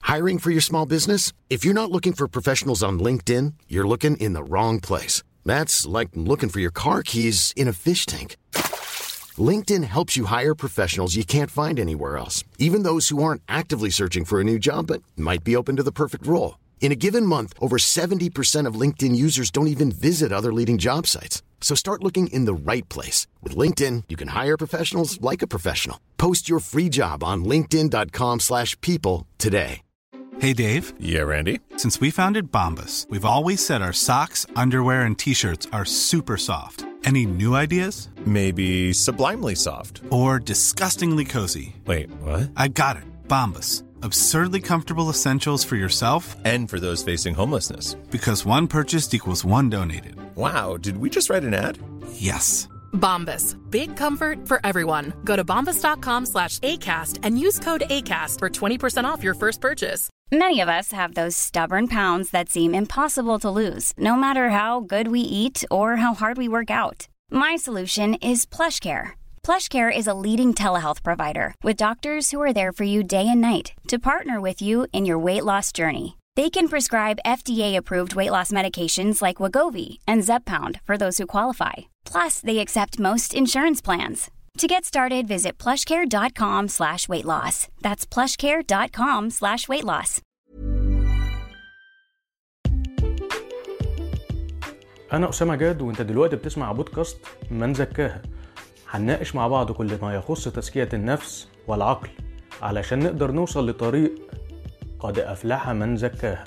Hiring for your small business? If you're not looking for professionals on LinkedIn, you're looking in the wrong place. That's like looking for your car keys in a fish tank. LinkedIn helps you hire professionals you can't find anywhere else, even those who aren't actively searching for a new job but might be open to the perfect role. In a given month, over 70% of LinkedIn users don't even visit other leading job sites. So start looking in the right place. With LinkedIn, you can hire professionals like a professional. Post your free job on linkedin.com/people today. Hey, Dave. Yeah, Randy. Since we founded Bombas, we've always said our socks, underwear, and T-shirts are super soft. Any new ideas? Maybe sublimely soft. Or disgustingly cozy. Wait, what? I got it. Bombas. Absurdly comfortable essentials for yourself and for those facing homelessness. Because one purchased equals one donated. Wow, did we just write an ad? Yes. Bombas. Big comfort for everyone. Go to bombas.com/ACAST and use code ACAST for 20% off your first purchase. Many of us have those stubborn pounds that seem impossible to lose, no matter how good we eat or how hard we work out. My solution is PlushCare. PlushCare is a leading telehealth provider with doctors who are there for you day and night to partner with you in your weight loss journey. They can prescribe FDA-approved weight loss medications like Wegovy and Zepbound for those who qualify. Plus, they accept most insurance plans. To get started, visit plushcare.com/weightloss. That's plushcare.com/weightloss. أنا أسامة جاد وأنت دلوقتي بتسمع بودكاست من زكاها. هنناقش مع بعض كل ما يخص تزكية النفس والعقل علشان نقدر نوصل لطريق قد أفلح من زكاها.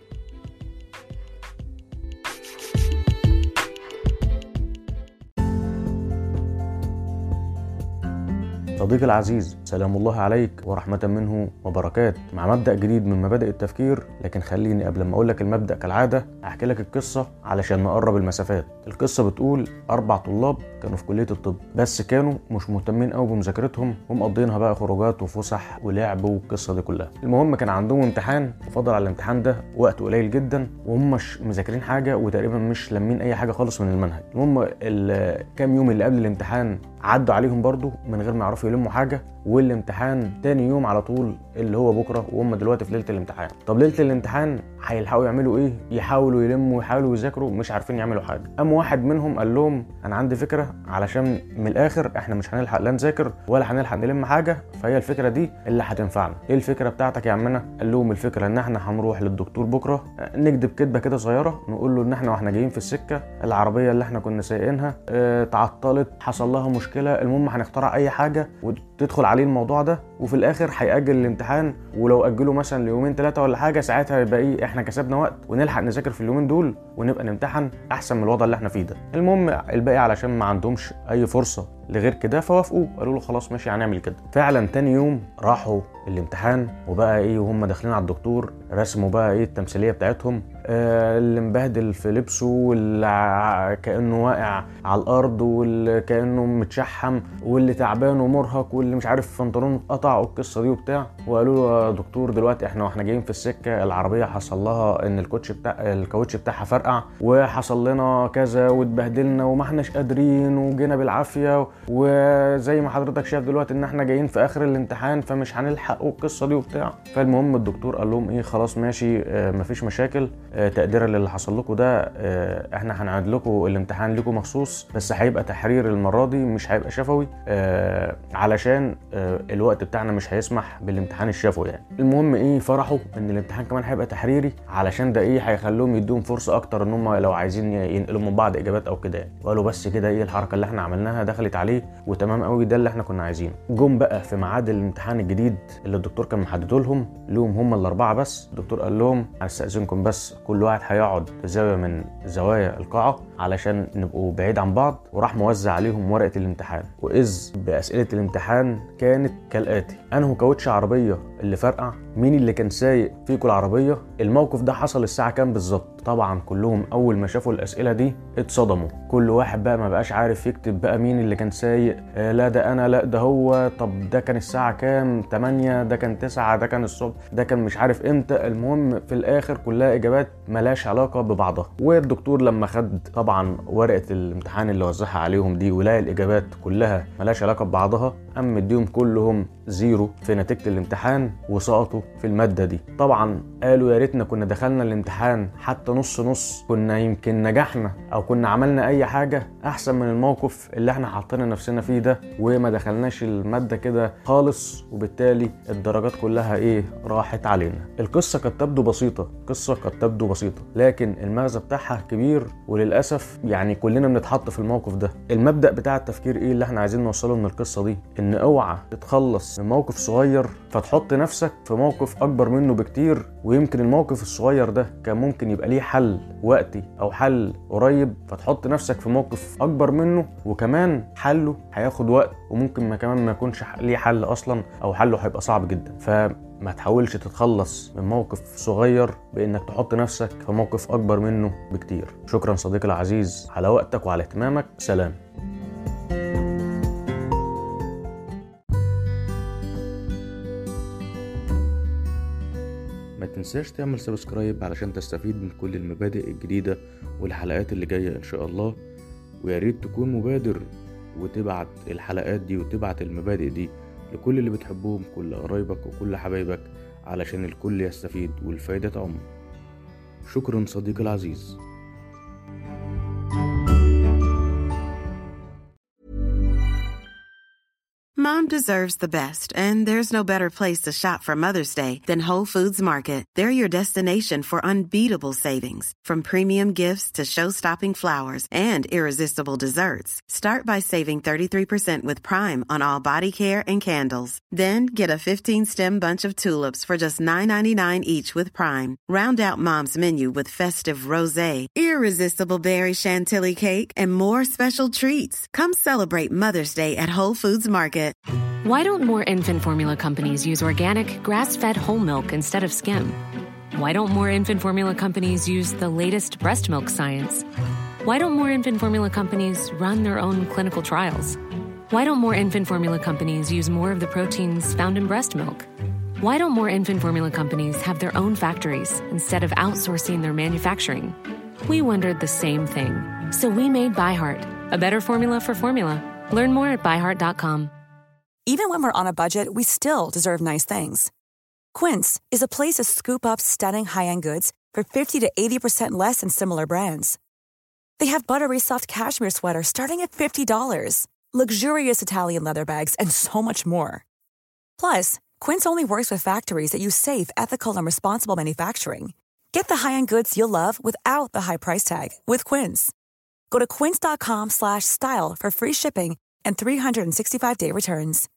صديقي العزيز، سلام الله عليك ورحمة منه وبركات، مع مبدأ جديد من مبادئ التفكير. لكن خليني قبل ما أقول لك المبدأ كالعادة أحكي لك القصة علشان نقرب المسافات. القصة بتقول 4 طلاب كانوا في كلية الطب، بس كانوا مش مهتمين قوي بمذاكرتهم ومقضينها بقى خروجات وفسح ولعب والقصة دي كلها. المهم كان عندهم امتحان وفضل على الامتحان ده وقت قليل جدا وهم مش مذاكرين حاجة وتقريبا مش لامين أي حاجة خالص من المنهج. المهم الكام يوم اللي قبل الامتحان عدوا عليهم برضو من غير ما يعرفوا يلموا حاجة، والامتحان تاني يوم على طول اللي هو بكرة وهم دلوقتي في ليلة الامتحان. طب ليلة الامتحان هيلحقوا يعملوا ايه؟ يحاولوا يلموا يحاولوا يذاكروا، مش عارفين يعملوا حاجة. قام واحد منهم قال لهم انا عندي فكرة علشان من الاخر احنا مش هنلحق لا نذاكر ولا هنلحق نلم حاجة، فهي الفكرة دي اللي هتنفعنا. ايه الفكرة بتاعتك يا عمنا؟ قال لهم الفكرة ان احنا هنروح للدكتور بكرة نكدب كدبة كده صغيرة، نقول له ان احنا واحنا جايين في السكة العربية اللي احنا كنا سايقينها تعطلت، حصل لها مشكلة، المهم هنخترع اي حاجة وتدخل عليه الموضوع ده، وفي الاخر هيأجل الامتحان. ولو أجله مثلا ليومين 3 ولا حاجة ساعتها يبقى ايه، احنا كسبنا وقت ونلحق نذاكر في اليومين دول ونبقى نمتحن احسن من الوضع اللي احنا فيه ده. المهم الباقي علشان ما عندهمش اي فرصة لغير كده فوافقوا، قالوا له خلاص ماشي هنعمل كده. فعلا تاني يوم راحوا الامتحان وبقى ايه وهم داخلين على الدكتور رسموا بقى ايه التمثيليه بتاعتهم، اللي مبهدل في لبسه واللي كانه واقع على الارض واللي كانه متشحم واللي تعبان ومرهق واللي مش عارف بنطلونه اتقطع والقصه دي وبتاع. وقالوا له يا دكتور دلوقتي احنا واحنا جايين في السكه العربيه حصل لها ان الكاوتش بتاعها فرقع وحصل لنا كذا واتبهدلنا وما احناش قادرين وجينا بالعافيه، وزي ما حضرتك شايف دلوقتي ان احنا جايين في اخر الامتحان فمش هنلحق القصه دي وبتاع. فالمهم الدكتور قال لهم ايه خلاص ماشي مفيش مشاكل، تقديرا للي حصل لكم ده احنا هنعيد لكم الامتحان لكم مخصوص، بس هيبقى تحرير المره دي مش هيبقى شفوي علشان الوقت بتاعنا مش هيسمح بالامتحان الشفوي يعني. المهم ايه فرحوا ان الامتحان كمان هيبقى تحريري علشان ده ايه هيخليهم يدوهم فرصه اكتر ان هم لو عايزين ينقلوا من بعض اجابات او كده يعني. وقالوا بس كده ايه الحركه اللي احنا عملناها دخلت عليه وتمام قوي، ده اللي احنا كنا عايزينه. جم بقى في ميعاد الامتحان الجديد اللي الدكتور كان محدده لهم هم الاربعه بس. الدكتور قال لهم هستأذنكم بس كل واحد هيقعد في زاويه من زوايا القاعه علشان نبقوا بعيد عن بعض، وراح موزع عليهم ورقه الامتحان. واذ باسئله الامتحان كانت كالاتي: انه كاوتش عربيه اللي فرقع؟ مين اللي كان سايق فيكم العربيه؟ الموقف ده حصل الساعه كام بالظبط؟ طبعا كلهم اول ما شافوا الاسئله دي اتصدموا، كل واحد بقى ما بقاش عارف يكتب بقى مين اللي كان سايق، لا ده انا لا ده هو، طب ده كان الساعه كام، 8، ده كان 9، ده كان الصبح، ده كان مش عارف امتى. المهم في الاخر كلها اجابات ملاش علاقه ببعضها. والدكتور لما خد طبعا ورقه الامتحان اللي وزعها عليهم دي ولقى الاجابات كلها ملاش علاقه ببعضها قام مديهم كلهم 0 في نتيجة الامتحان وسقطوا في المادة دي. طبعا قالوا يا ريتنا كنا دخلنا الامتحان حتى نص كنا يمكن نجحنا او كنا عملنا اي حاجة احسن من الموقف اللي احنا حاطين نفسنا فيه ده وما دخلناش المادة كده خالص، وبالتالي الدرجات كلها راحت علينا. القصة قد تبدو بسيطة لكن المغزى بتاعها كبير، وللأسف يعني كلنا بنتحط في الموقف ده. المبدأ بتاع التفكير اللي احنا عايزين نوصله من القصة دي؟ ان اوعى تتخلص من موقف صغير فتحط نفسك في موقف اكبر منه بكتير، ويمكن الموقف الصغير ده كان ممكن يبقى ليه حل وقتي او حل قريب، فتحط نفسك في موقف اكبر منه وكمان حله هياخد وقت وممكن كمان ما يكونش ليه حل اصلا او حله هيبقى صعب جدا. فما تحاولش تتخلص من موقف صغير بانك تحط نفسك في موقف اكبر منه بكتير. شكرا صديقي العزيز على وقتك وعلى اهتمامك. سلام. ما تنساش تعمل سبسكرايب علشان تستفيد من كل المبادئ الجديدة والحلقات اللي جاية ان شاء الله، ويا ريت تكون مبادر وتبعت الحلقات دي وتبعت المبادئ دي لكل اللي بتحبهم، كل قرايبك وكل حبايبك، علشان الكل يستفيد والفايدة تعم. شكرا صديقي العزيز. Mom deserves the best, and there's no better place to shop for Mother's Day than Whole Foods Market. They're your destination for unbeatable savings, from premium gifts to show-stopping flowers and irresistible desserts. Start by saving 33% with Prime on all body care and candles. Then get a 15-stem bunch of tulips for just $9.99 each with Prime. Round out Mom's menu with festive rosé, irresistible berry chantilly cake, and more special treats. Come celebrate Mother's Day at Whole Foods Market. Why don't more infant formula companies use organic, grass-fed whole milk instead of skim? Why don't more infant formula companies use the latest breast milk science? Why don't more infant formula companies run their own clinical trials? Why don't more infant formula companies use more of the proteins found in breast milk? Why don't more infant formula companies have their own factories instead of outsourcing their manufacturing? We wondered the same thing. So we made ByHeart, a better formula for formula. Learn more at byheart.com. Even when we're on a budget, we still deserve nice things. Quince is a place to scoop up stunning high-end goods for 50 to 80% less than similar brands. They have buttery soft cashmere sweaters starting at $50, luxurious Italian leather bags, and so much more. Plus, Quince only works with factories that use safe, ethical, and responsible manufacturing. Get the high-end goods you'll love without the high price tag with Quince. Go to quince.com/style for free shipping and 365-day returns.